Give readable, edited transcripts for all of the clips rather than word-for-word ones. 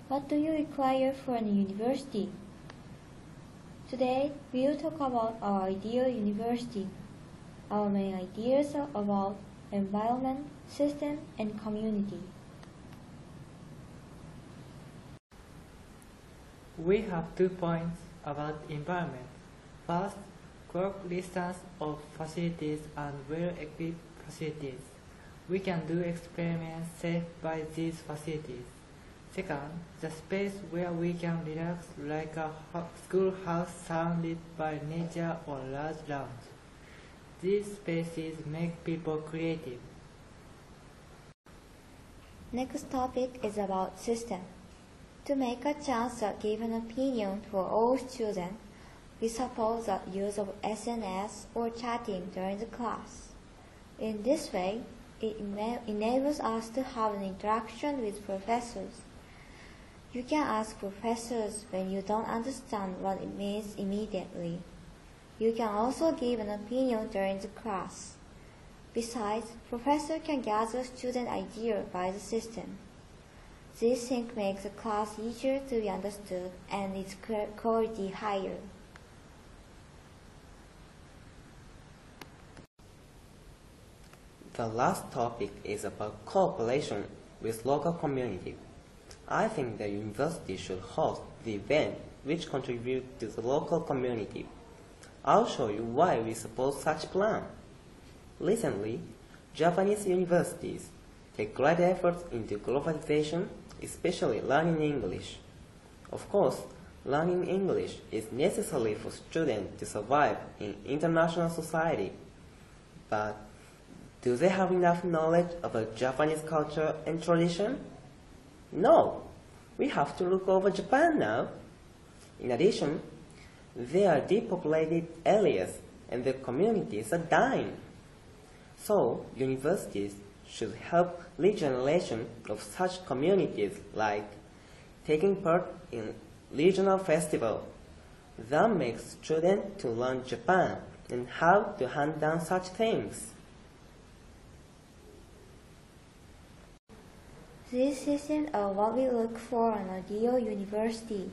What do you require for a university? Today, we will talk about our ideal university. Our main ideas are about environment, system, and community. We have 2 points about environment. First, correct listings of facilities and well-equipped facilities. We can do experiments safe by these facilities. Second, the space where we can relax like a schoolhouse surrounded by nature or large lounge. These spaces make people creative. Next topic is about system. To make a chance to give an opinion for all students, we suppose the use of SNS or chatting during the class. In this way, it enables us to have an interaction with professors. You can ask professors when you don't understand what it means immediately. You can also give an opinion during the class. Besides, professor can gather student ideas by the system. This thing makes the class easier to be understood and its quality higher. The last topic is about cooperation with local community. I think the university should host the event which contribute to the local community. I'll show you why we suppose such plan. Recently, Japanese universities take great efforts into globalization, especially learning English. Of course, learning English is necessary for students to survive in international society. But do they have enough knowledge about Japanese culture and tradition? No, we have to look over Japan now. In addition, there are depopulated areas and the communities are dying. So, universities should help regeneration of such communities like taking part in regional festival. That makes students to learn Japan and how to handle such things. These systems are what we look for in an ideal university.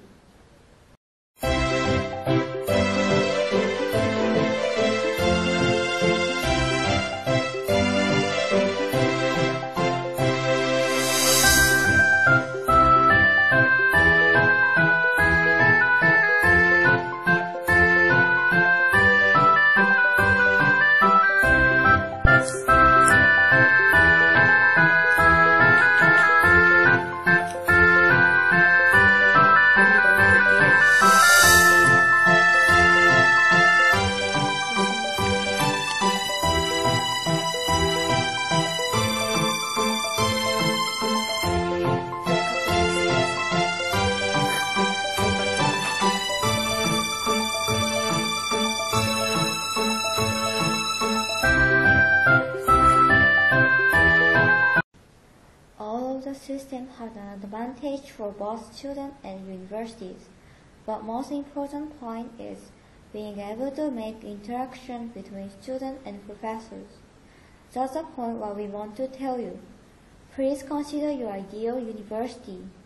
The system has an advantage for both students and universities, but most important point is being able to make interaction between students and professors. That's the point what we want to tell you. Please consider your ideal university.